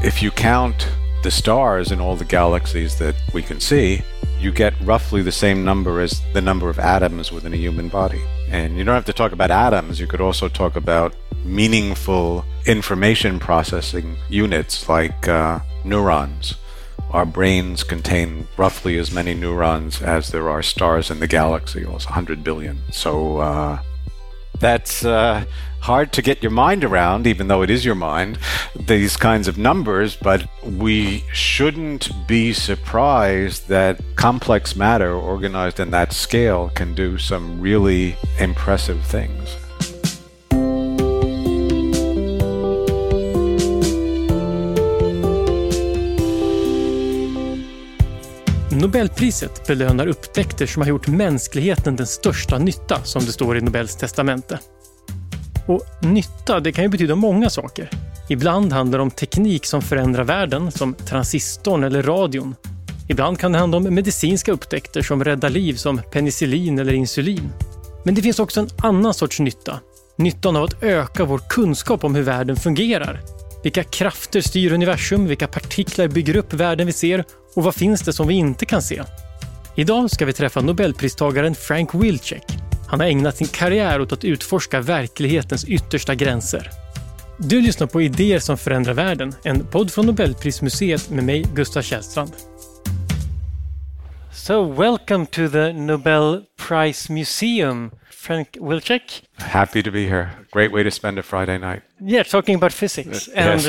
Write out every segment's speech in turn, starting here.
If you count the stars in all the galaxies that we can see, you get roughly the same number as the number of atoms within a human body. And you don't have to talk about atoms, you could also talk about meaningful information processing units like neurons. Our brains contain roughly as many neurons as there are stars in the galaxy, almost 100 billion. So that's hard to get your mind around, even though it is your mind, these kinds of numbers, but we shouldn't be surprised that complex matter organized in that scale can do some really impressive things. Nobelpriset belönar upptäckter som har gjort mänskligheten den största nytta, som det står i Nobels testamente. Och nytta, det kan ju betyda många saker. Ibland handlar det om teknik som förändrar världen, som transistorn eller radion. Ibland kan det handla om medicinska upptäckter som räddar liv, som penicillin eller insulin. Men det finns också en annan sorts nytta. Nyttan av att öka vår kunskap om hur världen fungerar. Vilka krafter styr universum, vilka partiklar bygger upp världen vi ser och vad finns det som vi inte kan se? Idag ska vi träffa Nobelpristagaren Frank Wilczek. Han har ägnat sin karriär åt att utforska verklighetens yttersta gränser. Du lyssnar på Idéer som förändrar världen, en podd från Nobelprismuseet med mig, Gustav Källstrand. So, welcome to the Nobel Prize Museum, Frank Wilczek. Happy to be here. Great way to spend a Friday night. Yeah, talking about physics. Yes.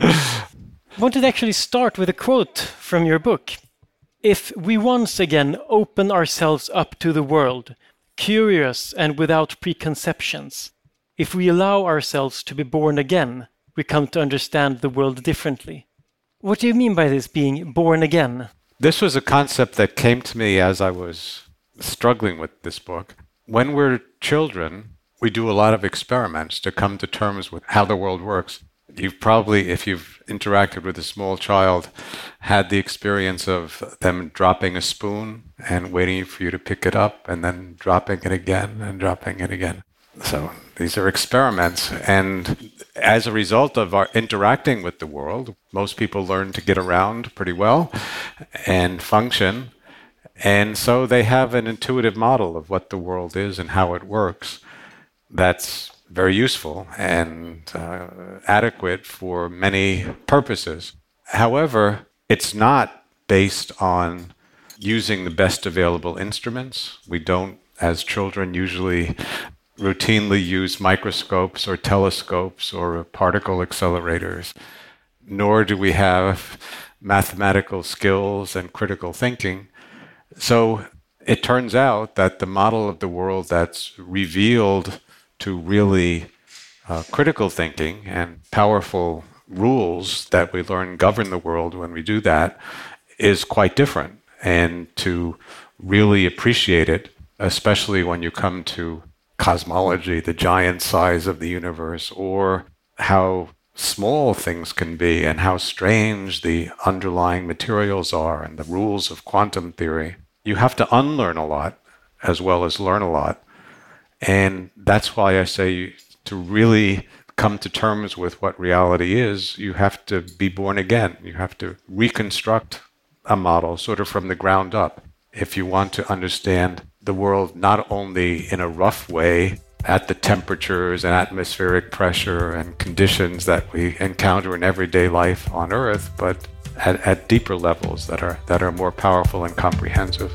I wanted to actually start with a quote from your book. If we once again open ourselves up to the world, curious and without preconceptions, if we allow ourselves to be born again, we come to understand the world differently. What do you mean by this, being born again? This was a concept that came to me as I was struggling with this book. When we're children, we do a lot of experiments to come to terms with how the world works. You've probably, if you've interacted with a small child, had the experience of them dropping a spoon and waiting for you to pick it up and then dropping it again and dropping it again. So these are experiments, and as a result of our interacting with the world, most people learn to get around pretty well and function, and so they have an intuitive model of what the world is and how it works that's very useful and adequate for many purposes. However, it's not based on using the best available instruments. We don't, as children, usually routinely use microscopes or telescopes or particle accelerators, nor do we have mathematical skills and critical thinking. So it turns out that the model of the world that's revealed to really critical thinking and powerful rules that we learn govern the world when we do that is quite different. And to really appreciate it, especially when you come to cosmology, the giant size of the universe, or how small things can be and how strange the underlying materials are and the rules of quantum theory, you have to unlearn a lot as well as learn a lot. And that's why I say to really come to terms with what reality is, you have to be born again. You have to reconstruct a model sort of from the ground up if you want to understand the world not only in a rough way at the temperatures and atmospheric pressure and conditions that we encounter in everyday life on Earth, but at deeper levels that are more powerful and comprehensive.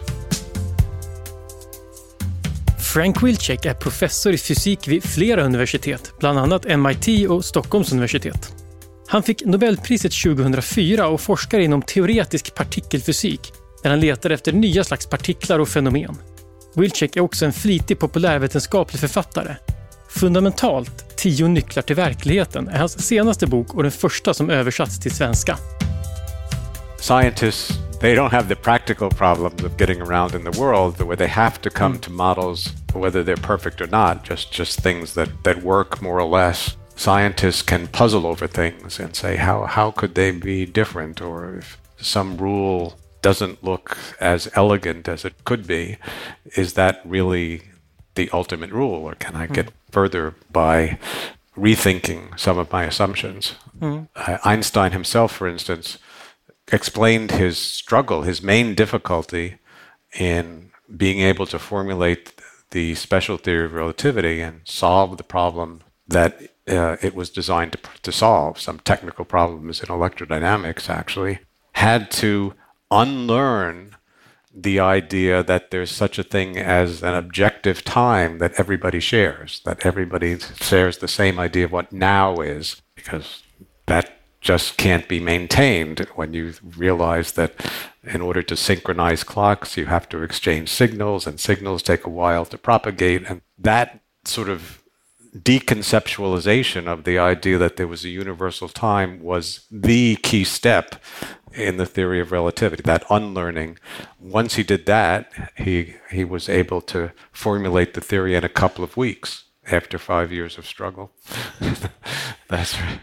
Frank Wilczek är professor i fysik vid flera universitet, bland annat MIT och Stockholms universitet. Han fick Nobelpriset 2004 och forskar inom teoretisk partikelfysik, där han letar efter nya slags partiklar och fenomen. Wilczek är också en flitig populärvetenskaplig författare. Fundamentalt, 10 nycklar till verkligheten är hans senaste bok och den första som översatts till svenska. Scientists, they don't have the practical problems of getting around in the world where they have to come to models, whether they're perfect or not, just things that work more or less. Scientists can puzzle over things and say, how could they be different? Or if some rule doesn't look as elegant as it could be, is that really the ultimate rule? Or can I get further by rethinking some of my assumptions. Einstein himself, for instance, explained his struggle, his main difficulty in being able to formulate the special theory of relativity and solve the problem that it was designed to solve, some technical problems in electrodynamics actually, had to unlearn the idea that there's such a thing as an objective time that everybody shares the same idea of what now is, because that just can't be maintained when you realize that in order to synchronize clocks, you have to exchange signals, and signals take a while to propagate. And that sort of deconceptualization of the idea that there was a universal time was the key step in the theory of relativity, that unlearning. Once he did that, he was able to formulate the theory in a couple of weeks after 5 years of struggle. That's right.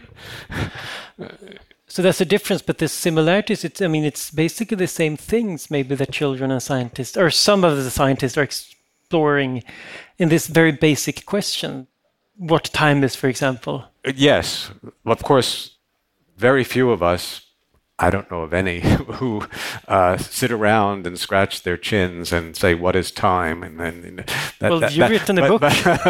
So that's the difference, but the similarities, it's basically the same things maybe that children and scientists, or some of the scientists, are exploring in this very basic question. What time is, for example? Yes. Of course, very few of us, I don't know of any, who sit around and scratch their chins and say, "What is time?" And then you've written a book.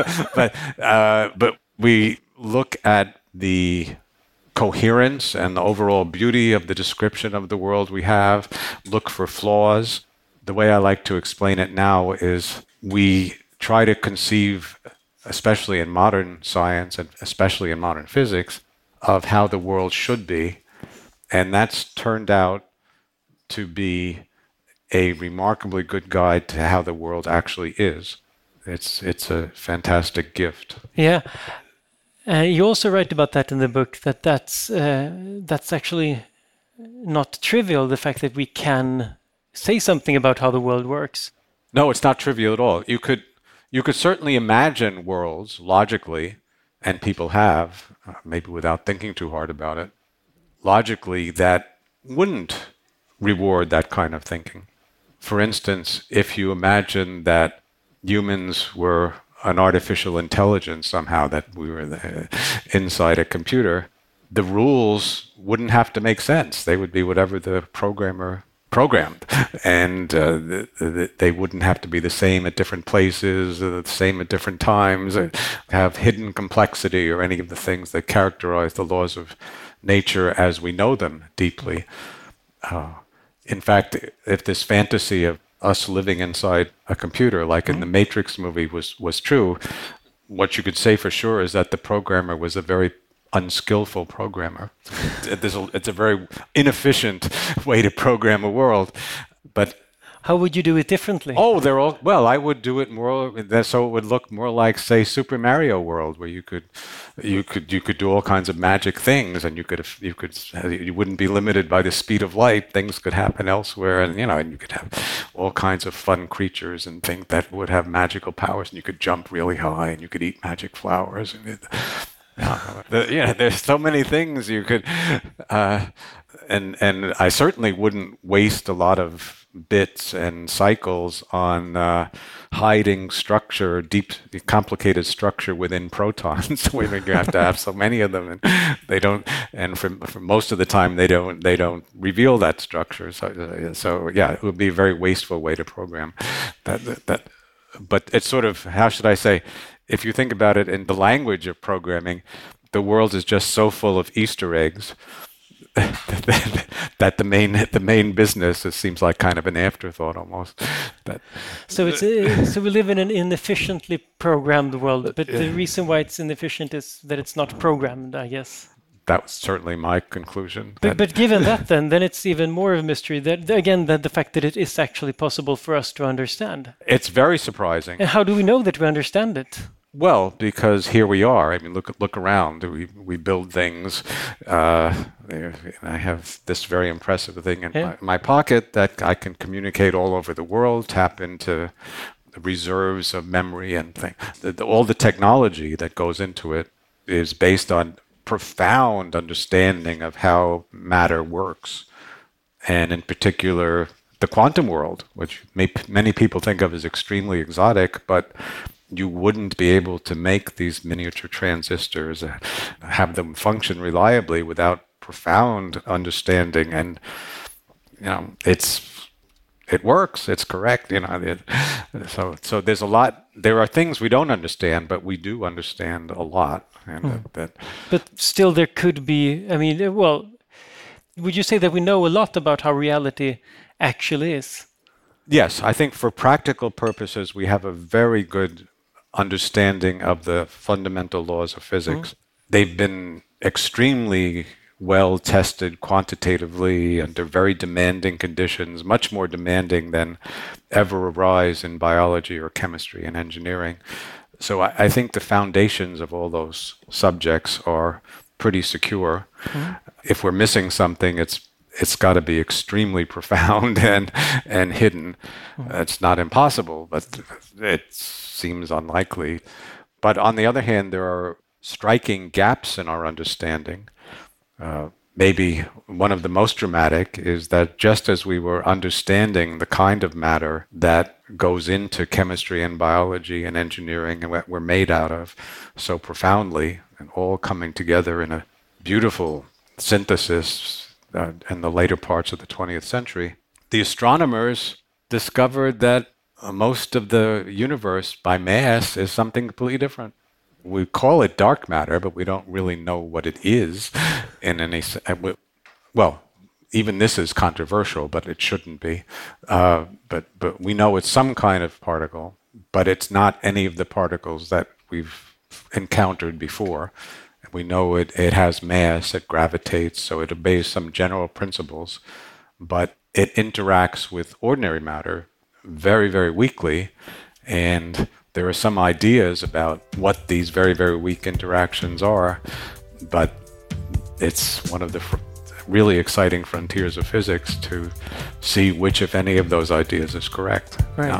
But we look at the coherence and the overall beauty of the description of the world we have, look for flaws. The way I like to explain it now is we try to conceive, especially in modern science and especially in modern physics, of how the world should be. And that's turned out to be a remarkably good guide to how the world actually is. It's a fantastic gift. Yeah. You also write about that in the book, that's actually not trivial, the fact that we can say something about how the world works. No, it's not trivial at all. You could certainly imagine worlds logically, and people have, maybe without thinking too hard about it, logically that wouldn't reward that kind of thinking. For instance, if you imagine that humans were an artificial intelligence somehow, that we were inside a computer, the rules wouldn't have to make sense. They would be whatever the programmer programmed, and they wouldn't have to be the same at different places, the same at different times, have hidden complexity or any of the things that characterize the laws of nature as we know them deeply. In fact, if this fantasy of us living inside a computer, like in the Matrix movie, was true, what you could say for sure is that the programmer was a very unskillful programmer. It's a very inefficient way to program a world. But how would you do it differently? I would do it more so it would look more like, say, Super Mario World, where you could do all kinds of magic things, and you wouldn't be limited by the speed of light. Things could happen elsewhere, and you could have all kinds of fun creatures and things that would have magical powers, and you could jump really high, and you could eat magic flowers, and there's so many things you could, and I certainly wouldn't waste a lot of bits and cycles on hiding structure, deep, complicated structure within protons. You have to have so many of them, and they don't. And for most of the time, they don't reveal that structure. So yeah, it would be a very wasteful way to program that. But it's sort of, how should I say? If you think about it in the language of programming, the world is just so full of Easter eggs that the main business, it seems like kind of an afterthought almost. So we live in an inefficiently programmed world, but the reason why it's inefficient is that it's not programmed, I guess. That was certainly my conclusion. But given that, then it's even more of a mystery. That again, the fact that it is actually possible for us to understand. It's very surprising. And how do we know that we understand it? Well, because here we are. I mean, look around. We build things. I have this very impressive thing in my pocket that I can communicate all over the world, tap into the reserves of memory and things. All the technology that goes into it is based on profound understanding of how matter works, and in particular the quantum world, which many people think of as extremely exotic, but you wouldn't be able to make these miniature transistors, have them function reliably without profound understanding. And it works. It's correct. So there's a lot. There are things we don't understand, but we do understand a lot. And but still, there could be. I mean, well, would you say that we know a lot about how reality actually is? Yes, I think for practical purposes, we have a very good understanding of the fundamental laws of physics. They've been extremely well tested quantitatively under very demanding conditions, much more demanding than ever arise in biology or chemistry and engineering. So I think the foundations of all those subjects are pretty secure. If we're missing something, it's got to be extremely profound and hidden. It's not impossible, but it seems unlikely. But on the other hand, there are striking gaps in our understanding. Maybe one of the most dramatic is that just as we were understanding the kind of matter that goes into chemistry and biology and engineering and what we're made out of so profoundly and all coming together in a beautiful synthesis in the later parts of the 20th century, the astronomers discovered that most of the universe by mass is something completely different. We call it dark matter, but we don't really know what it is in any sense. Well, even this is controversial, but it shouldn't be. But we know it's some kind of particle, but it's not any of the particles that we've encountered before. We know it has mass, it gravitates, so it obeys some general principles, but it interacts with ordinary matter very, very weakly, and there are some ideas about what these very, very weak interactions are, but it's one of the really exciting frontiers of physics to see which, if any, of those ideas is correct. Right.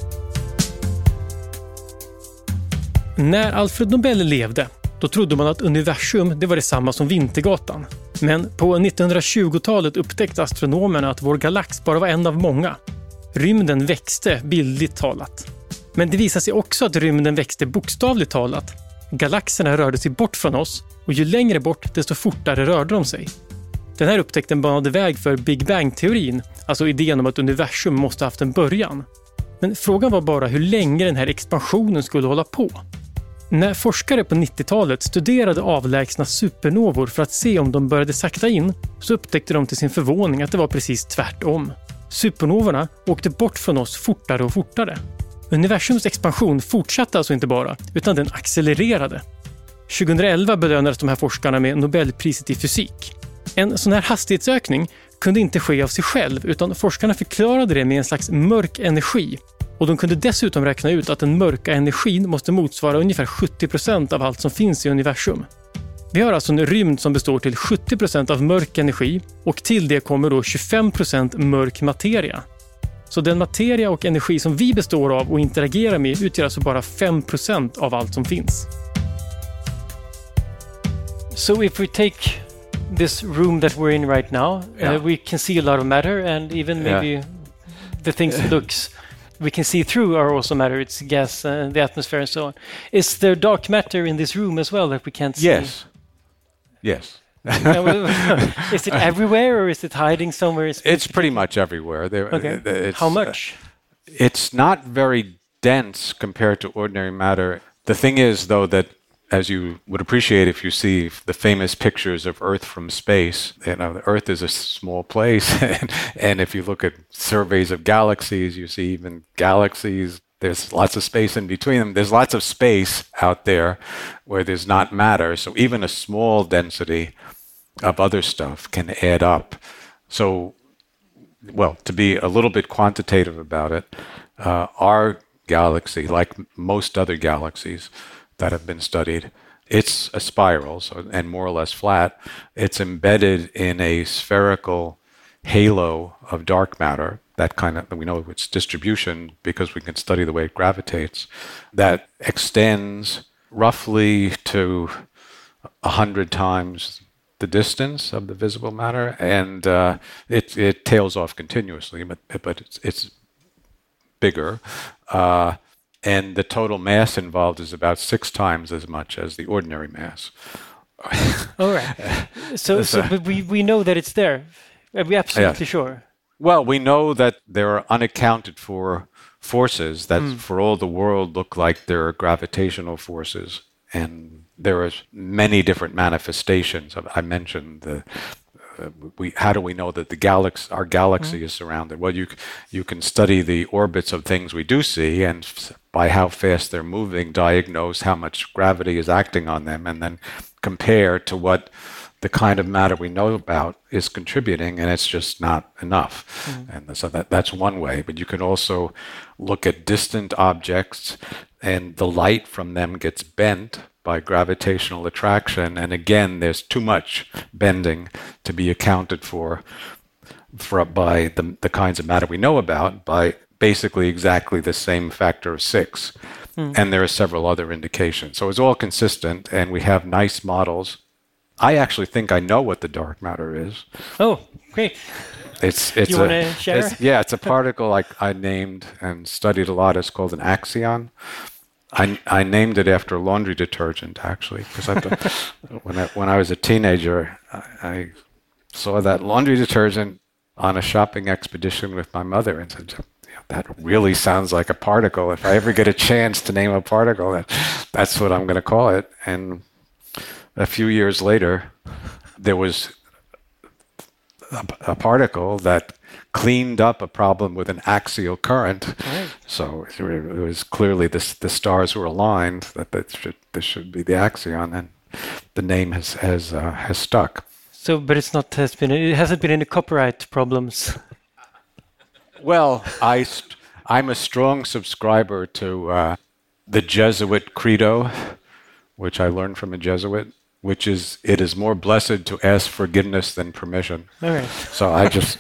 När Alfred Nobel levde, då trodde man att universum det var detsamma som Vintergatan. Men på 1920-talet upptäckte astronomerna att vår galax bara var en av många. Rymden växte bildligt talat. Men det visade sig också att rymden växte bokstavligt talat. Galaxerna rörde sig bort från oss och ju längre bort desto fortare rörde de sig. Den här upptäckten banade väg för Big Bang-teorin, alltså idén om att universum måste ha haft en början. Men frågan var bara hur länge den här expansionen skulle hålla på. När forskare på 90-talet studerade avlägsna supernovor för att se om de började sakta in, så upptäckte de till sin förvåning att det var precis tvärtom. Supernovorna åkte bort från oss fortare och fortare. Universums expansion fortsatte alltså inte bara, utan den accelererade. 2011 belönades de här forskarna med Nobelpriset i fysik. En sån här hastighetsökning kunde inte ske av sig själv, utan forskarna förklarade det med en slags mörk energi. Och de kunde dessutom räkna ut att den mörka energin måste motsvara ungefär 70% av allt som finns i universum. Vi har alltså en rymd som består till 70% av mörk energi och till det kommer då 25% mörk materia. Så den materia och energi som vi består av och interagerar med utgör alltså bara 5% av allt som finns. So if we take this room that we're in right now, we can see a lot of matter, and even maybe the things that we can see through are also matter. It's gas, the atmosphere and so on. Is there dark matter in this room as well that we can't see? Yes. Is it everywhere or is it hiding somewhere? It's pretty much everywhere. How much? It's not very dense compared to ordinary matter. The thing is, though, that as you would appreciate if you see the famous pictures of Earth from space, the Earth is a small place. And if you look at surveys of galaxies, you see even galaxies. There's lots of space in between them. There's lots of space out there where there's not matter. So even a small density of other stuff can add up. So, well, to be a little bit quantitative about it, our galaxy, like most other galaxies that have been studied, it's a spiral, and more or less flat. It's embedded in a spherical halo of dark matter. That kind of, we know its distribution because we can study the way it gravitates, that extends roughly to 100 times the distance of the visible matter, and it tails off continuously, but it's bigger. and the total mass involved is about 6 times as much as the ordinary mass. All right. But we know that it's there. Are we absolutely sure? Well, we know that there are unaccounted for forces that for all the world look like there are gravitational forces, and there are many different manifestations. I mentioned how do we know that our galaxy is surrounded? Well, you can study the orbits of things we do see, and by how fast they're moving, diagnose how much gravity is acting on them, and then compare to what the kind of matter we know about is contributing, and it's just not enough. And so that's one way. But you can also look at distant objects, and the light from them gets bent by gravitational attraction. And again, there's too much bending to be accounted for by the kinds of matter we know about, by basically exactly the same factor of 6. And there are several other indications. So it's all consistent, and we have nice models. I actually think I know what the dark matter is. Oh, great. It's you want to share? It's a particle I named and studied a lot. It's called an axion. I named it after a laundry detergent, actually, because when I was a teenager, I saw that laundry detergent on a shopping expedition with my mother and said, that really sounds like a particle. If I ever get a chance to name a particle, that's what I'm going to call it. And a few years later, there was a particle that cleaned up a problem with an axial current. Right. So it was clearly the stars were aligned that this should be the axion, and the name has stuck. So, but it hasn't been any copyright problems. Well, I'm a strong subscriber to the Jesuit credo, which I learned from a Jesuit, which is, it is more blessed to ask forgiveness than permission. All right. So I just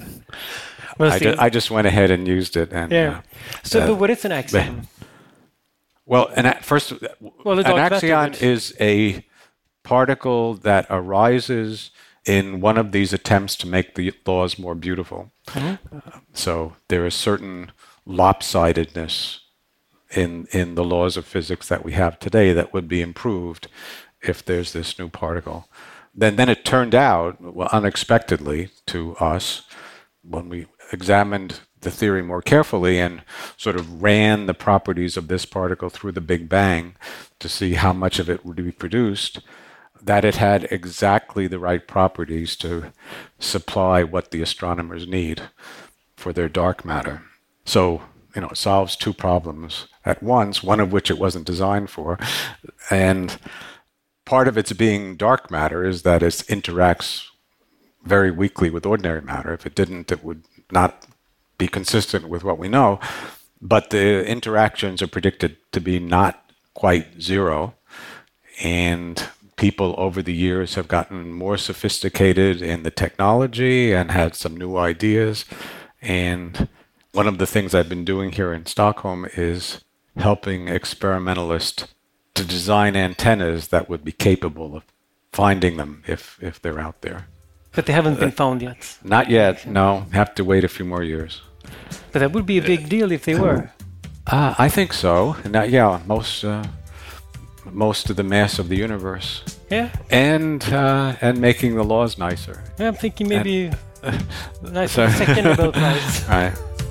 I just went ahead and used it. And, but what is an axion? Well, an axion is a particle that arises in one of these attempts to make the laws more beautiful. So there is certain lopsidedness in the laws of physics that we have today that would be improved if there's this new particle. Then it turned out, unexpectedly to us, when we examined the theory more carefully and sort of ran the properties of this particle through the Big Bang to see how much of it would be produced, that it had exactly the right properties to supply what the astronomers need for their dark matter. So, it solves 2 problems at once, one of which it wasn't designed for. And part of its being dark matter is that it interacts very weakly with ordinary matter. If it didn't, it would not be consistent with what we know. But the interactions are predicted to be not quite zero. And people over the years have gotten more sophisticated in the technology and had some new ideas. And one of the things I've been doing here in Stockholm is helping experimentalists to design antennas that would be capable of finding them if they're out there. But they haven't been found yet? Not yet, no. Have to wait a few more years. But that would be a big deal if they were. I think so. And most of the mass of the universe. Yeah. And making the laws nicer. Yeah, I'm thinking maybe nicer second about lights. Right.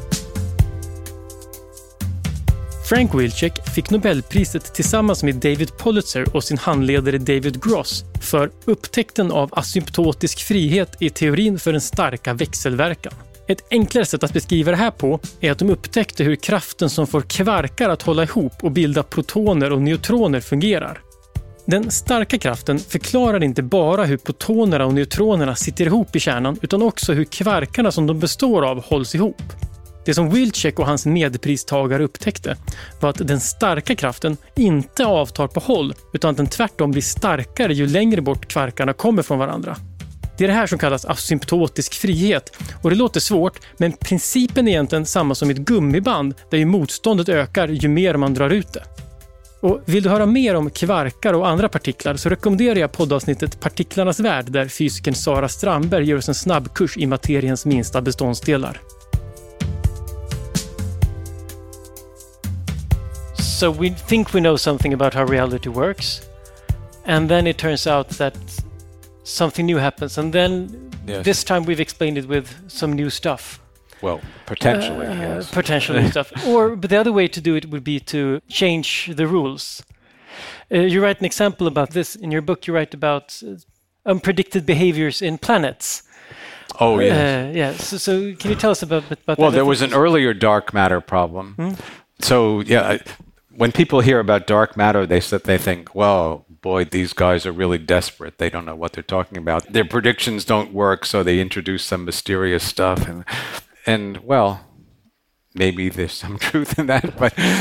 Frank Wilczek fick Nobelpriset tillsammans med David Politzer och sin handledare David Gross för upptäckten av asymptotisk frihet i teorin för den starka växelverkan. Ett enklare sätt att beskriva det här på är att de upptäckte hur kraften som får kvarkar att hålla ihop och bilda protoner och neutroner fungerar. Den starka kraften förklarar inte bara hur protonerna och neutronerna sitter ihop i kärnan utan också hur kvarkarna som de består av hålls ihop. Det som Wilczek och hans medpristagare upptäckte var att den starka kraften inte avtar på håll utan att den tvärtom blir starkare ju längre bort kvarkarna kommer från varandra. Det är det här som kallas asymptotisk frihet och det låter svårt men principen är egentligen samma som ett gummiband där ju motståndet ökar ju mer man drar ut det. Och vill du höra mer om kvarkar och andra partiklar så rekommenderar jag poddavsnittet Partiklarnas värld där fysikern Sara Strandberg ger oss en snabbkurs i materiens minsta beståndsdelar. So we think we know something about how reality works, and then it turns out that something new happens, and then this time we've explained it with some new stuff. Well, potentially, yes. Potentially stuff. But the other way to do it would be to change the rules. You write an example about this in your book. You write about unpredicted behaviors in planets. Oh, yes. So can you tell us about that? Well, there was an earlier dark matter problem. So, yeah, when people hear about dark matter, they think, well, boy, these guys are really desperate. They don't know what they're talking about. Their predictions don't work, so they introduce some mysterious stuff. And well, maybe there's some truth in that,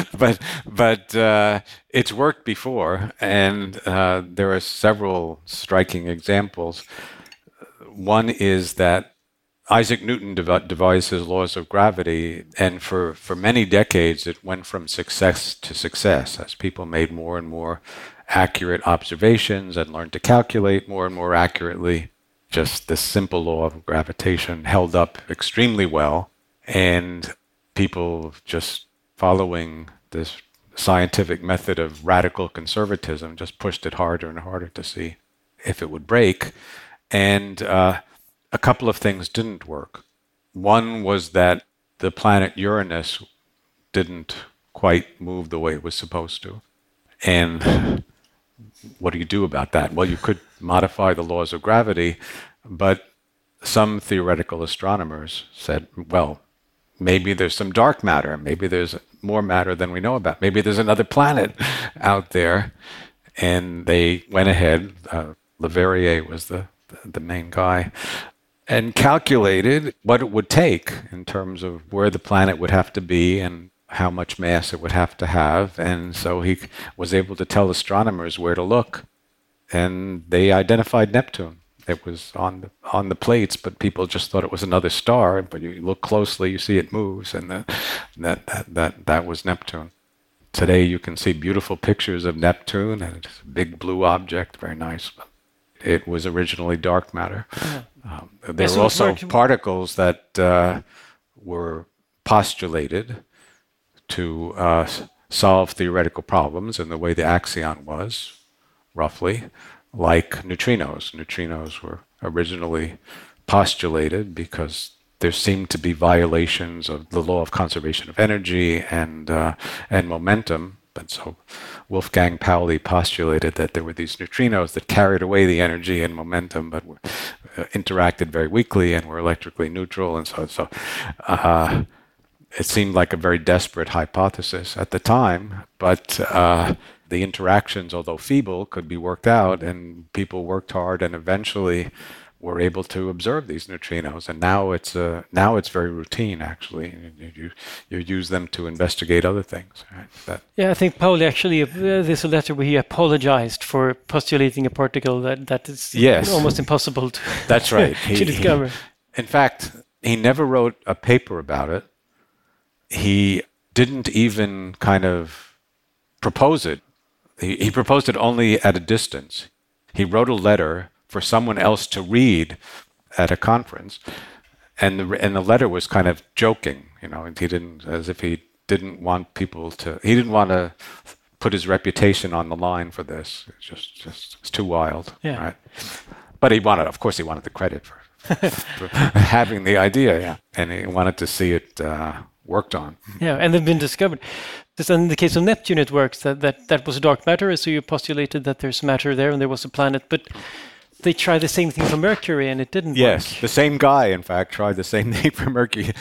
but it's worked before, and there are several striking examples. One is that Isaac Newton devised his laws of gravity, and for many decades it went from success to success as people made more and more accurate observations and learned to calculate more and more accurately. Just this simple law of gravitation held up extremely well, and people just following this scientific method of radical conservatism just pushed it harder and harder to see if it would break. And a couple of things didn't work. One was that the planet Uranus didn't quite move the way it was supposed to. And what do you do about that? Well, you could modify the laws of gravity, but some theoretical astronomers said, well, maybe there's some dark matter. Maybe there's more matter than we know about. Maybe there's another planet out there. And they went ahead, Leverrier was the main guy, and calculated what it would take in terms of where the planet would have to be and how much mass it would have to have. And so he was able to tell astronomers where to look. And they identified Neptune. It was on the plates, but people just thought it was another star. But you look closely, you see it moves, and that was Neptune. Today you can see beautiful pictures of Neptune, and it's a big blue object, very nice. But it was originally dark matter. Yeah. There were also particles that were postulated to solve theoretical problems in the way the axion was, roughly, like neutrinos. Neutrinos were originally postulated because there seemed to be violations of the law of conservation of energy and momentum. And so Wolfgang Pauli postulated that there were these neutrinos that carried away the energy and momentum, but interacted very weakly and were electrically neutral. And so it seemed like a very desperate hypothesis at the time, but the interactions, although feeble, could be worked out, and people worked hard and eventually were able to observe these neutrinos. And now it's very routine, actually. You use them to investigate other things. Right? I think Pauli actually, there's a letter where he apologized for postulating a particle that is almost impossible to, that's right. to discover. In fact, he never wrote a paper about it. He didn't even kind of propose it. He proposed it only at a distance. He wrote a letter for someone else to read at a conference, and the letter was kind of joking, and he didn't want to put his reputation on the line for this. It's too wild, right? But he wanted the credit for having the idea, and he wanted to see it worked on. Yeah, and they've been discovered. In the case of Neptune, it works that was dark matter, so you postulated that there's matter there and there was a planet, but they tried the same thing for Mercury and it didn't work. Yes, the same guy, in fact, tried the same thing for Mercury.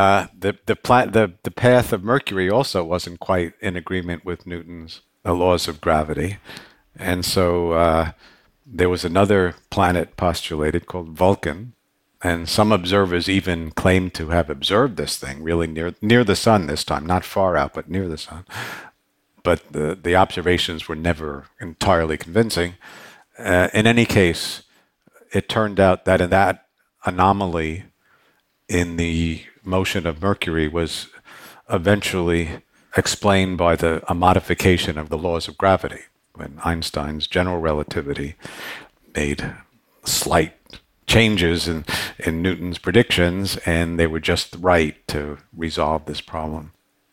The path of Mercury also wasn't quite in agreement with Newton's laws of gravity, and so there was another planet postulated called Vulcan. And some observers even claim to have observed this thing really near the sun this time, not far out, but near the sun. But the observations were never entirely convincing. In any case, it turned out that in that anomaly in the motion of Mercury was eventually explained by a modification of the laws of gravity, when Einstein's general relativity made slight changes in Newton's predictions, and they were just right to resolve this problem.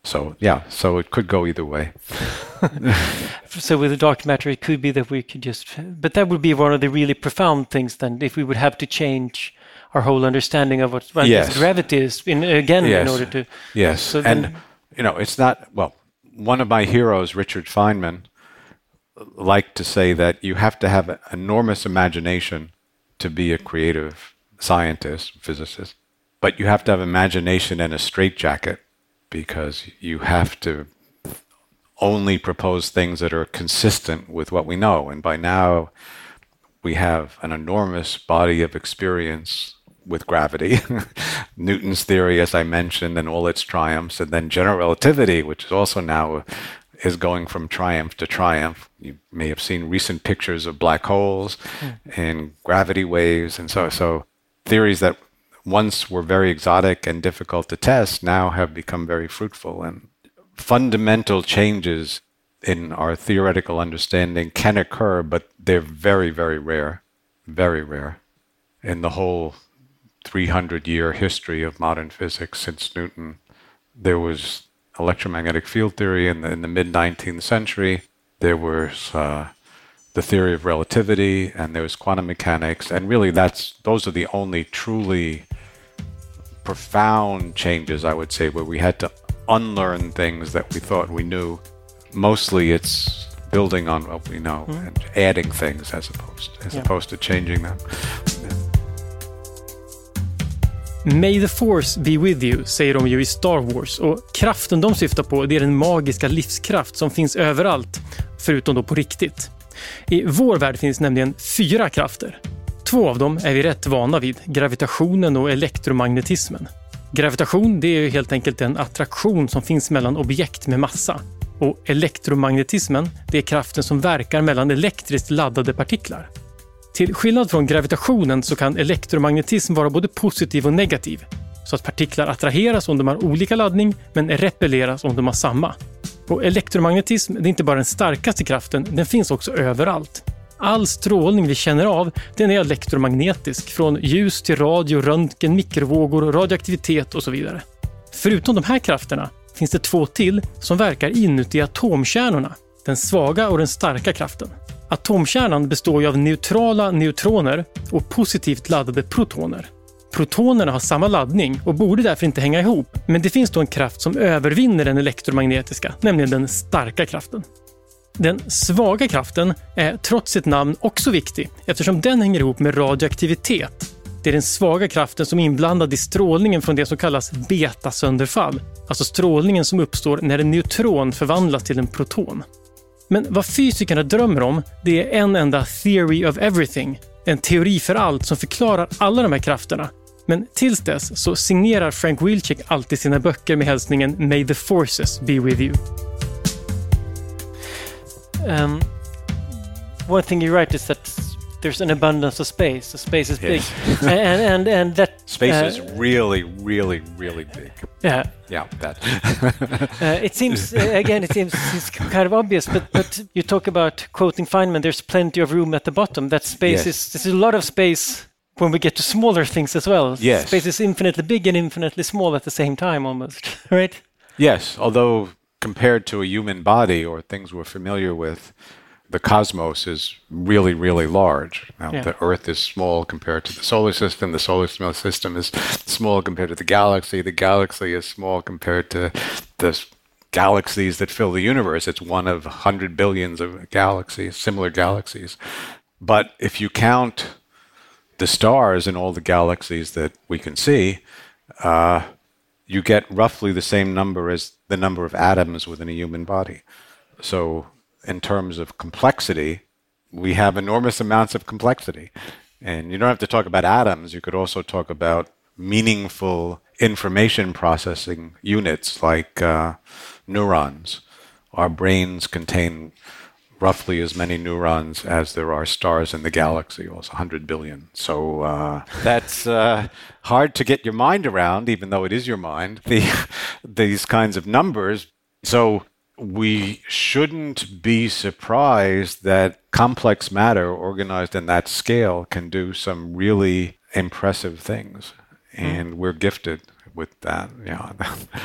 So yeah, so it could go either way. So with the dark matter, it could be that we could just, but that would be one of the really profound things then, if we would have to change our whole understanding of what gravity is in order to. Yes, so and it's not, well, one of my heroes, Richard Feynman, liked to say that you have to have an enormous imagination to be a creative scientist, physicist, but you have to have imagination and a straitjacket, because you have to only propose things that are consistent with what we know. And by now, we have an enormous body of experience with gravity, Newton's theory, as I mentioned, and all its triumphs, and then general relativity, which is also now is going from triumph to triumph. You may have seen recent pictures of black holes and gravity waves, and so theories that once were very exotic and difficult to test now have become very fruitful. And fundamental changes in our theoretical understanding can occur, but they're very, very rare, very rare. In the whole 300-year history of modern physics since Newton, there was electromagnetic field theory in the mid-19th century. There was the theory of relativity, and there was quantum mechanics, and really those are the only truly profound changes, I would say, where we had to unlearn things that we thought we knew. Mostly it's building on what we know and adding things as opposed to changing them. May the force be with you, säger de ju i Star Wars, och kraften de syftar på, det är den magiska livskraft som finns överallt, förutom då på riktigt. I vår värld finns nämligen 4 krafter. 2 av dem är vi rätt vana vid, gravitationen och elektromagnetismen. Gravitation, det är ju helt enkelt en attraktion som finns mellan objekt med massa. Och elektromagnetismen, det är kraften som verkar mellan elektriskt laddade partiklar. Till skillnad från gravitationen så kan elektromagnetism vara både positiv och negativ. Så att partiklar attraheras om de har olika laddning, men repelleras om de har samma. Och elektromagnetism, det är inte bara den starkaste kraften, den finns också överallt. All strålning vi känner av, den är elektromagnetisk, från ljus till radio, röntgen, mikrovågor, radioaktivitet och så vidare. Förutom de här krafterna finns det 2 till som verkar inuti atomkärnorna, den svaga och den starka kraften. Atomkärnan består ju av neutrala neutroner och positivt laddade protoner. Protonerna har samma laddning och borde därför inte hänga ihop, men det finns då en kraft som övervinner den elektromagnetiska, nämligen den starka kraften. Den svaga kraften är trots sitt namn också viktig, eftersom den hänger ihop med radioaktivitet. Det är den svaga kraften som är inblandad i strålningen från det som kallas betasönderfall, alltså strålningen som uppstår när en neutron förvandlas till en proton. Men vad fysikerna drömmer om, det är en enda theory of everything, en teori för allt som förklarar alla de här krafterna. Men tills dess så signerar Frank Wilczek alltid sina böcker med hälsningen May the forces be with you. One thing you write is that there's an abundance of space. So space is big, and that space is really, really, really big. Yeah, that. It seems it's kind of obvious, but you talk about quoting Feynman. There's plenty of room at the bottom. That space is there's a lot of space when we get to smaller things as well. Yes, space is infinitely big and infinitely small at the same time, almost. Right? Yes, although compared to a human body or things we're familiar with, the cosmos is really, really large. Now, the Earth is small compared to the solar system. The solar system is small compared to the galaxy. The galaxy is small compared to the galaxies that fill the universe. It's one of 100 billions of galaxies, similar galaxies. But if you count the stars in all the galaxies that we can see, you get roughly the same number as the number of atoms within a human body. So in terms of complexity, we have enormous amounts of complexity. And you don't have to talk about atoms. You could also talk about meaningful information processing units like neurons. Our brains contain roughly as many neurons as there are stars in the galaxy, also 100 billion. So that's hard to get your mind around, even though it is your mind, these kinds of numbers. So we shouldn't be surprised that complex matter organized in that scale can do some really impressive things. And we're gifted with that. Yeah.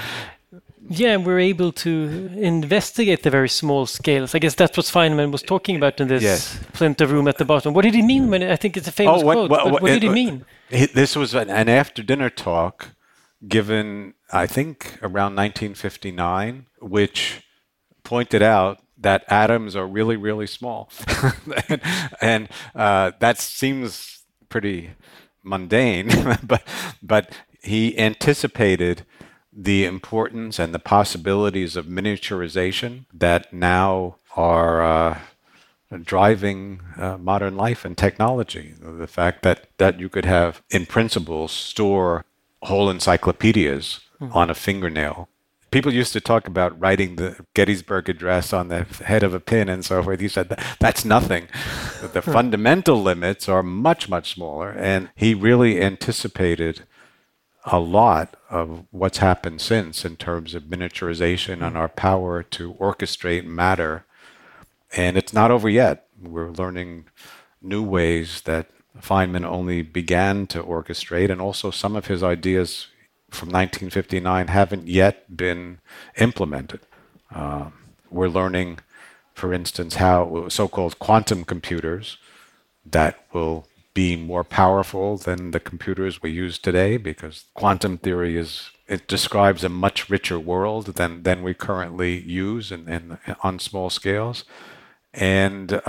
Yeah, we're able to investigate the very small scales. I guess that's what Feynman was talking about in this plinth of room at the bottom. What did he mean when I think it's a famous quote? What did he mean? This was an after-dinner talk given, I think, around 1959, which pointed out that atoms are really, really small. and that seems pretty mundane, but he anticipated the importance and the possibilities of miniaturization that now are driving modern life and technology. The fact that you could have, in principle, store whole encyclopedias on a fingernail. People used to talk about writing the Gettysburg Address on the head of a pin and so forth. He said that's nothing. The fundamental limits are much, much smaller. And he really anticipated a lot of what's happened since in terms of miniaturization and our power to orchestrate matter. And it's not over yet. We're learning new ways that Feynman only began to orchestrate, and also some of his ideas from 1959 haven't yet been implemented. We're learning, for instance, how so-called quantum computers that will be more powerful than the computers we use today, because quantum theory it describes a much richer world than we currently use and on small scales. And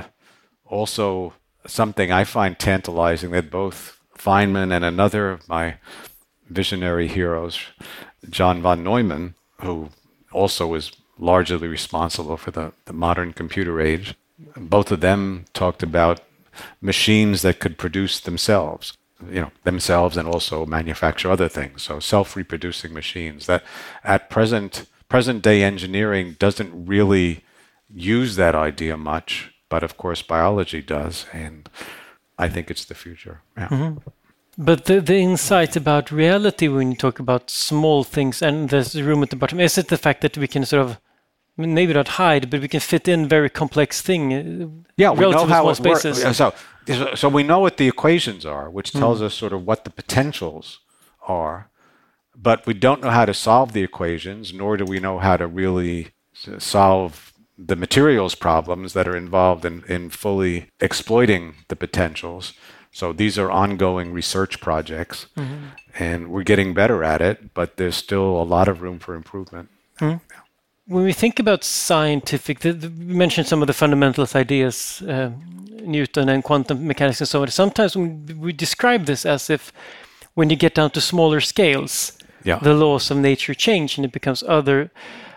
also something I find tantalizing that both Feynman and another of my visionary heroes, John von Neumann, who also is largely responsible for the modern computer age, both of them talked about machines that could produce themselves and also manufacture other things. So self-reproducing machines. That at present day engineering doesn't really use that idea much, but of course biology does, and I think it's the future. Yeah. Mm-hmm. But the insight about reality when you talk about small things and there's room at the bottom, is it the fact that we can sort of, maybe not hide, but we can fit in very complex thing? Yeah, we know how it works. So we know what the equations are, which tells us sort of what the potentials are, but we don't know how to solve the equations, nor do we know how to really solve the materials problems that are involved in fully exploiting the potentials. So these are ongoing research projects, and we're getting better at it, but there's still a lot of room for improvement. Mm. Yeah. When we think about scientific, we mentioned some of the fundamentalist ideas, Newton and quantum mechanics and so on. Sometimes we describe this as if when you get down to smaller scales, the laws of nature change and it becomes other.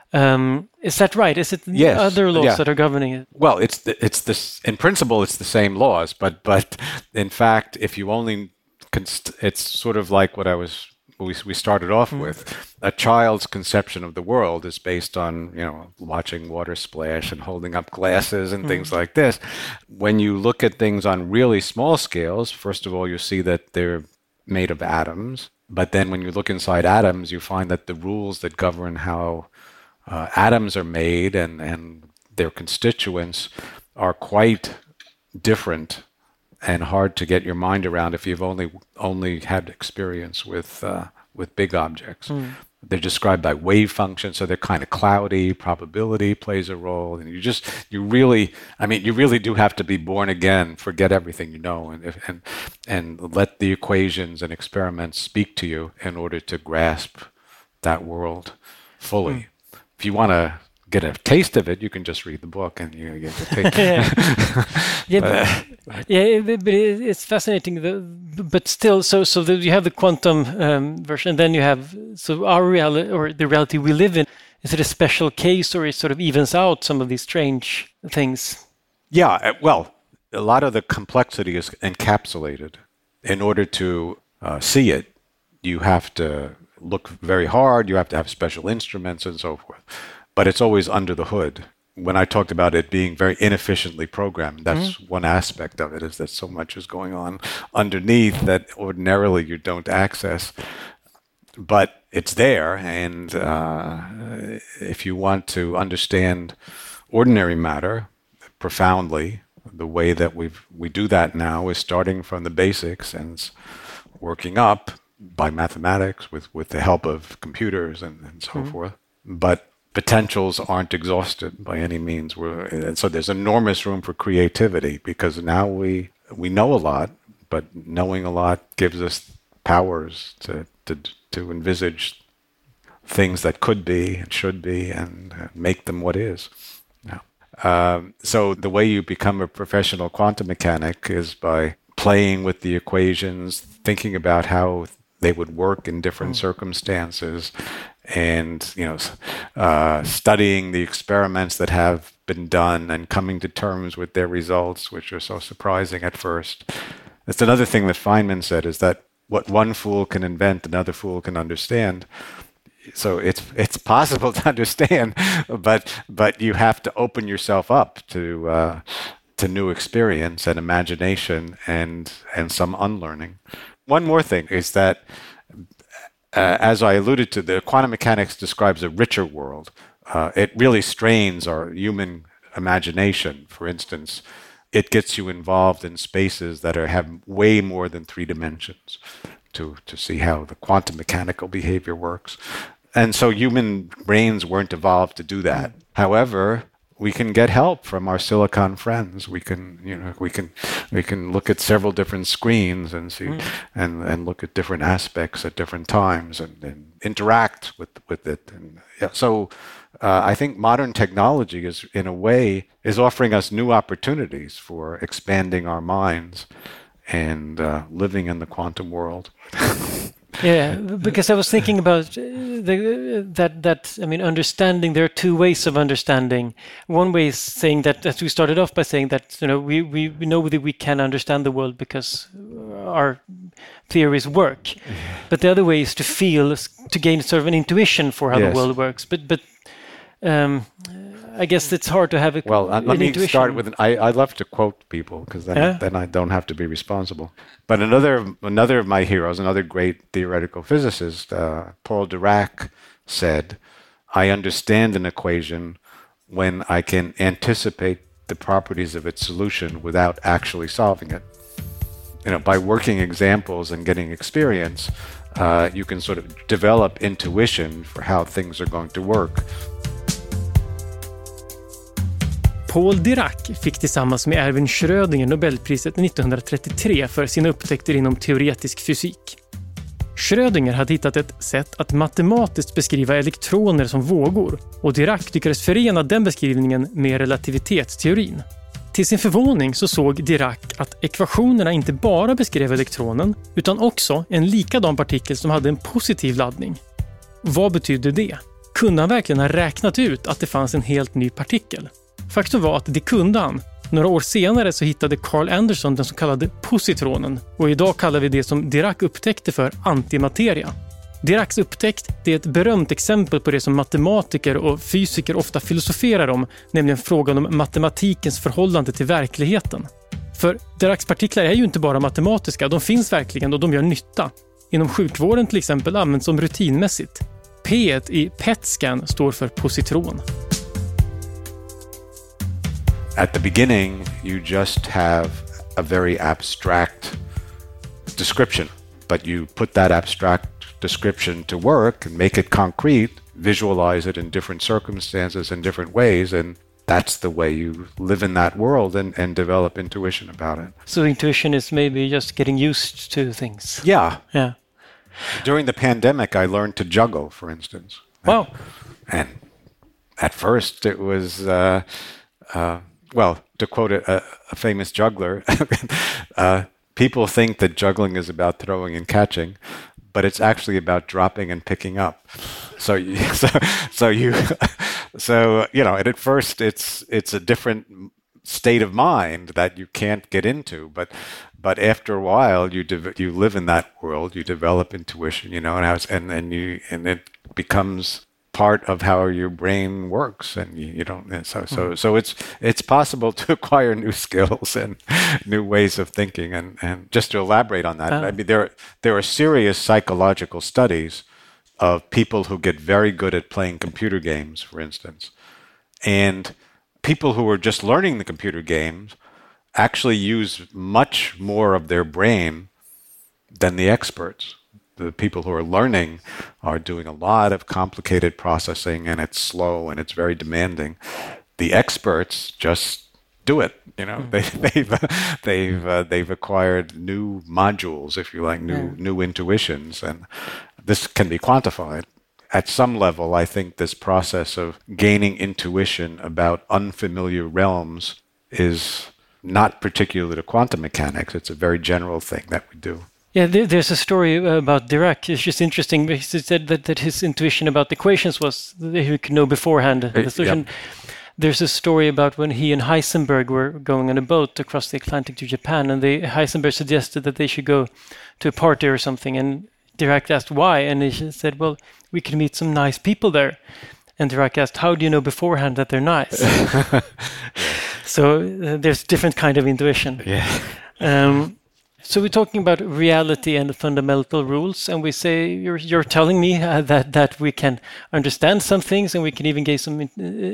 Is that right? Is it other laws that are governing it? Well, it's this. In principle, it's the same laws, but in fact, if you only, it's sort of like what we started off with. A child's conception of the world is based on watching water splash and holding up glasses and things like this. When you look at things on really small scales, first of all, you see that they're made of atoms. But then when you look inside atoms, you find that the rules that govern how atoms are made and their constituents are quite different and hard to get your mind around if you've only had experience with big objects. They're described by wave functions, so they're kind of cloudy. Probability plays a role, and you really do have to be born again, forget everything you know, and let the equations and experiments speak to you in order to grasp that world fully. If you want to get a taste of it, you can just read the book and you get to take but it's fascinating. But still, so you have the quantum version, and then you have our reality, or the reality we live in. Is it a special case, or it sort of evens out some of these strange things? Yeah, well, a lot of the complexity is encapsulated. In order to see it, you have to look very hard, you have to have special instruments and so forth. But it's always under the hood. When I talked about it being very inefficiently programmed, that's one aspect of it, is that so much is going on underneath that ordinarily you don't access. But it's there, and if you want to understand ordinary matter profoundly, the way that we do that now is starting from the basics and working up. by mathematics with the help of computers and so forth. But potentials aren't exhausted by any means. And so there's enormous room for creativity because now we know a lot, but knowing a lot gives us powers to envisage things that could be and should be and make them what is. So the way you become a professional quantum mechanic is by playing with the equations, thinking about how they would work in different circumstances, and studying the experiments that have been done and coming to terms with their results, which are so surprising at first. That's another thing that Feynman said, is that what one fool can invent, another fool can understand. So it's possible to understand, but you have to open yourself up to new experience and imagination and some unlearning. One more thing is that, as I alluded to, the quantum mechanics describes a richer world. It really strains our human imagination. For instance, it gets you involved in spaces that have way more than 3 dimensions to see how the quantum mechanical behavior works. And so human brains weren't evolved to do that. However, we can get help from our silicon friends. We can look at several different screens and see and look at different aspects at different times and interact with it. And so I think modern technology is, in a way, is offering us new opportunities for expanding our minds and living in the quantum world. Yeah, because I was thinking about understanding. There are 2 ways of understanding. One way is saying that, as we started off by saying that, we know that we can understand the world because our theories work. But the other way is to gain sort of an intuition for how the world works. But I guess it's hard to have a let me start with I love to quote people because then I don't have to be responsible. But another of my heroes, another great theoretical physicist, Paul Dirac, said, "I understand an equation when I can anticipate the properties of its solution without actually solving it." By working examples and getting experience, you can sort of develop intuition for how things are going to work. Paul Dirac fick tillsammans med Erwin Schrödinger Nobelpriset 1933 för sina upptäckter inom teoretisk fysik. Schrödinger hade hittat ett sätt att matematiskt beskriva elektroner som vågor, och Dirac lyckades förena den beskrivningen med relativitetsteorin. Till sin förvåning så såg Dirac att ekvationerna inte bara beskrev elektronen utan också en likadan partikel som hade en positiv laddning. Vad betydde det? Kunde han verkligen ha räknat ut att det fanns en helt ny partikel? Faktum var att det kunde han. Några år senare så hittade Carl Anderson den så kallade positronen, och idag kallar vi det som Dirac upptäckte för antimateria. Diracs upptäckt är ett berömt exempel på det som matematiker och fysiker ofta filosoferar om, nämligen frågan om matematikens förhållande till verkligheten. För Diracs partiklar är ju inte bara matematiska, de finns verkligen och de gör nytta. Inom sjukvården till exempel används de rutinmässigt. P i PET-scan står för positron. At the beginning, you just have a very abstract description, but you put that abstract description to work and make it concrete, visualize it in different circumstances in different ways, and that's the way you live in that world and develop intuition about it. So intuition is maybe just getting used to things. Yeah. Yeah. During the pandemic, I learned to juggle, for instance. Wow. And at first it was... to quote a famous juggler, people think that juggling is about throwing and catching, but it's actually about dropping and picking up. And at first it's a different state of mind that you can't get into, but after a while you live in that world, you develop intuition, and it becomes part of how your brain works, and you don't. So it's possible to acquire new skills and new ways of thinking. And just to elaborate on that, I mean, there are serious psychological studies of people who get very good at playing computer games, for instance, and people who are just learning the computer games actually use much more of their brain than the experts. The people who are learning are doing a lot of complicated processing, and it's slow and it's very demanding. The experts just do it. They've acquired new modules, if you like, new intuitions, and this can be quantified. At some level, I think this process of gaining intuition about unfamiliar realms is not particular to quantum mechanics. It's a very general thing that we do. Yeah, there's a story about Dirac. It's just interesting because he said that his intuition about equations was that he could know beforehand the solution. Yep. There's a story about when he and Heisenberg were going on a boat across the Atlantic to Japan, and Heisenberg suggested that they should go to a party or something, and Dirac asked why, and he said, well, we can meet some nice people there. And Dirac asked, how do you know beforehand that they're nice? So there's different kind of intuition. Yeah. So we're talking about reality and fundamental rules, and we say you're telling me that we can understand some things, and we can even gain some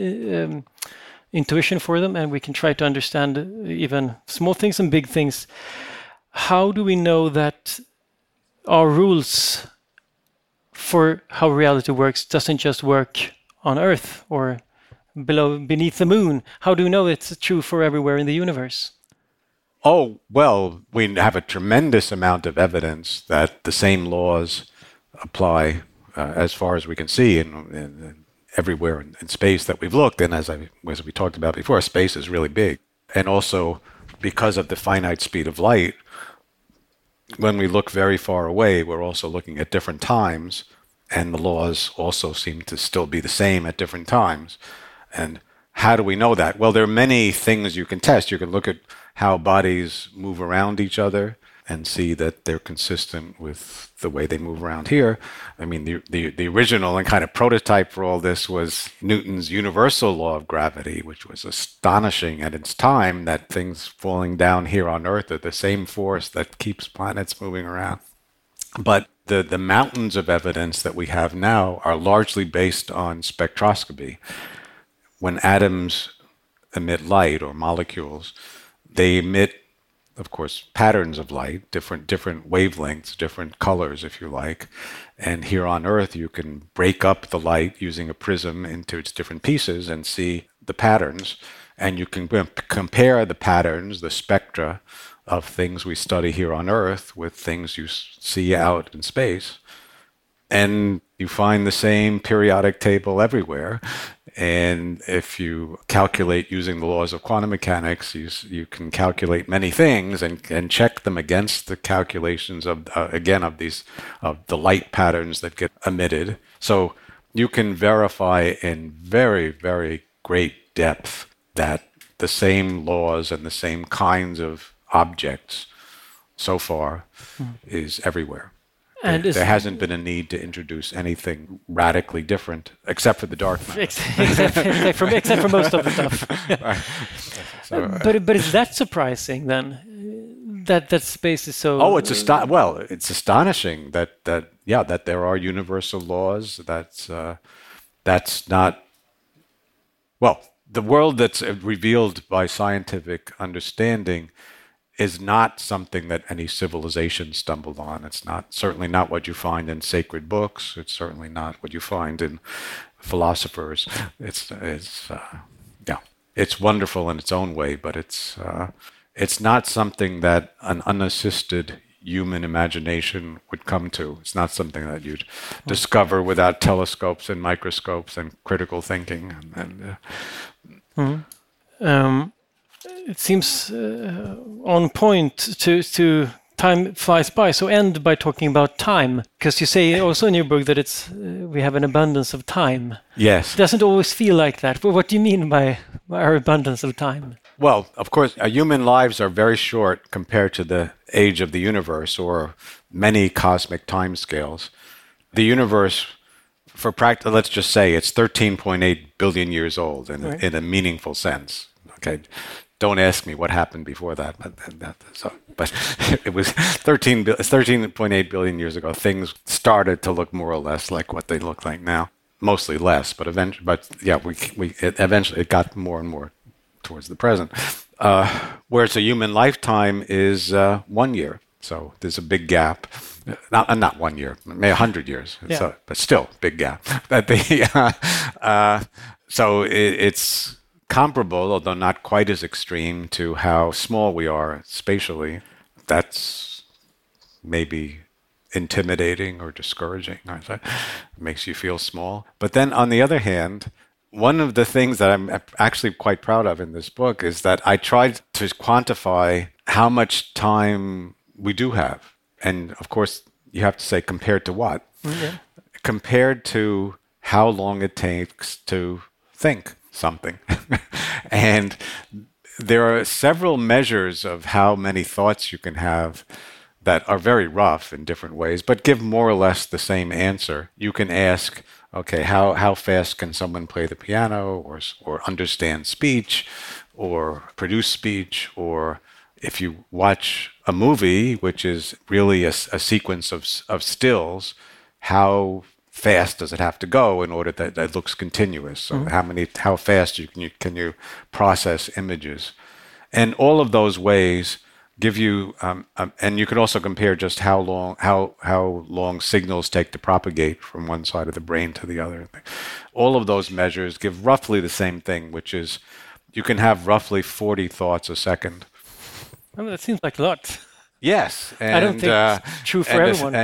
intuition for them, and we can try to understand even small things and big things. How do we know that our rules for how reality works doesn't just work on Earth or beneath the moon? How do we know it's true for everywhere in the universe? Oh, well, we have a tremendous amount of evidence that the same laws apply as far as we can see in everywhere in space that we've looked. And as we talked about before, space is really big. And also, because of the finite speed of light, when we look very far away, we're also looking at different times, and the laws also seem to still be the same at different times. And how do we know that? Well, there are many things you can test. You can look at how bodies move around each other and see that they're consistent with the way they move around here. I mean, the original and kind of prototype for all this was Newton's universal law of gravity, which was astonishing at its time, that things falling down here on Earth are the same force that keeps planets moving around. But the mountains of evidence that we have now are largely based on spectroscopy. When atoms emit light, or molecules, they emit, of course, patterns of light, different wavelengths, different colors, if you like. And here on Earth, you can break up the light using a prism into its different pieces and see the patterns. And you can compare the patterns, the spectra of things we study here on Earth with things you see out in space. And you find the same periodic table everywhere. And if you calculate using the laws of quantum mechanics, you can calculate many things and check them against the calculations of the light patterns that get emitted. So you can verify in very, very great depth that the same laws and the same kinds of objects so far is everywhere. And there hasn't been a need to introduce anything radically different, except for the dark matter. except for most of the stuff. Right. So, but is that surprising then? That space is so. Oh, it's astonishing that there are universal laws. That's not. Well, the world that's revealed by scientific understanding is not something that any civilization stumbled on. It's certainly not what you find in sacred books. It's certainly not what you find in philosophers. It's wonderful in its own way, but it's not something that an unassisted human imagination would come to. It's not something that you'd discover without telescopes and microscopes and critical thinking. It seems on point to time flies by. So end by talking about time, because you say also in your book that we have an abundance of time. Yes. It doesn't always feel like that. But what do you mean by our abundance of time? Well, of course, human lives are very short compared to the age of the universe or many cosmic timescales. The universe, for practice, let's just say it's 13.8 billion years old in a meaningful sense. Okay. Don't ask me what happened before that, but it was 13.8 billion years ago. Things started to look more or less like what they look like now, mostly less, but eventually it got more and more towards the present. Whereas a human lifetime is 1 year. So there's a big gap. Not 1 year, maybe 100 years. Yeah. So, but still, big gap. So it's comparable, although not quite as extreme, to how small we are spatially. That's maybe intimidating or discouraging. It makes you feel small. But then on the other hand, one of the things that I'm actually quite proud of in this book is that I tried to quantify how much time we do have. And of course, you have to say compared to what? Yeah. Compared to how long it takes to think something. And there are several measures of how many thoughts you can have that are very rough in different ways, but give more or less the same answer. You can ask, okay, how fast can someone play the piano or understand speech or produce speech? Or if you watch a movie, which is really a sequence of stills, how fast does it have to go in order that it looks continuous? So how fast can you process images? And all of those ways give you, and you can also compare just how long signals take to propagate from one side of the brain to the other. All of those measures give roughly the same thing, which is you can have roughly 40 thoughts a second. I mean, that seems like a lot. Yes, and I don't think it's true for everyone.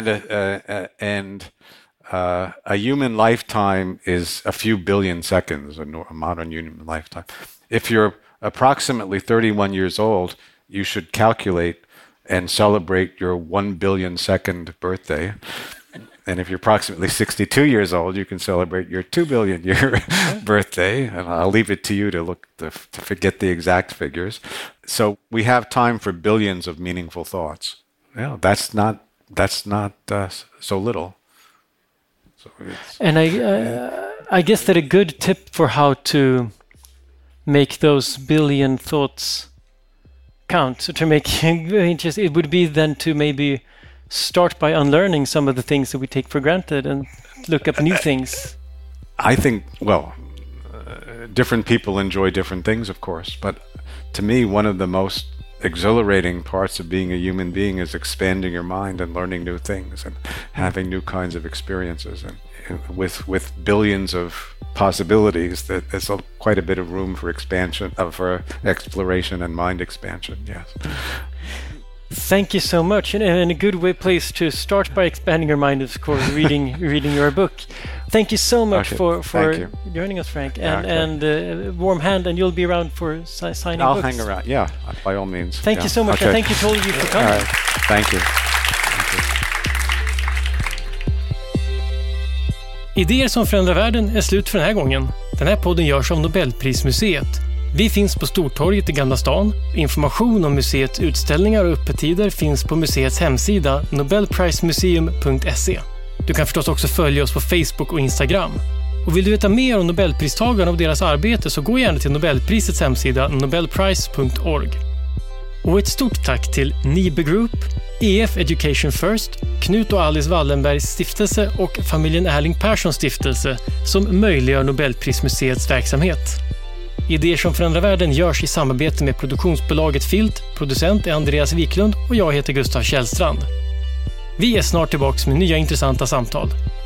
A human lifetime is a few billion seconds, a modern human lifetime. If you're approximately 31 years old, you should calculate and celebrate your 1 billion second birthday. And if you're approximately 62 years old, you can celebrate your 2 billion year birthday. And I'll leave it to you to forget the exact figures. So we have time for billions of meaningful thoughts. Yeah, that's not so little. So and I guess that a good tip for how to make those billion thoughts count, so to make it it would be then to maybe start by unlearning some of the things that we take for granted and look up new things. I think, different people enjoy different things, of course, but to me, one of the most exhilarating parts of being a human being is expanding your mind and learning new things and having new kinds of experiences. And with billions of possibilities, that there's quite a bit of room for expansion, for exploration and mind expansion. Yes. Thank you so much, and a good place to start by expanding your mind is, of course, reading your book. Thank you so much for joining us, Frank, and warm hand, and you'll be around for signing I'll books. hang around, yeah, by all means. Thank you so much, and thank you to all of you for coming. All right. Thank you. Idéer som förändrar världen är slut för den här gången. Den här podden görs av Nobelprismuseet. Vi finns på Stortorget i Gamla stan. Information om museets utställningar och öppettider finns på museets hemsida nobelprismuseum.se. Du kan förstås också följa oss på Facebook och Instagram. Och vill du veta mer om Nobelpristagarna och deras arbete, så gå gärna till Nobelprisets hemsida nobelprice.org. Och ett stort tack till Nibe Group, EF Education First, Knut och Alice Wallenbergs stiftelse och familjen Erling Perssons stiftelse som möjliggör Nobelprismuseets verksamhet. Idéer som förändrar världen görs i samarbete med produktionsbolaget Filt, producent är Andreas Wiklund och jag heter Gustav Källstrand. Vi är snart tillbaka med nya intressanta samtal.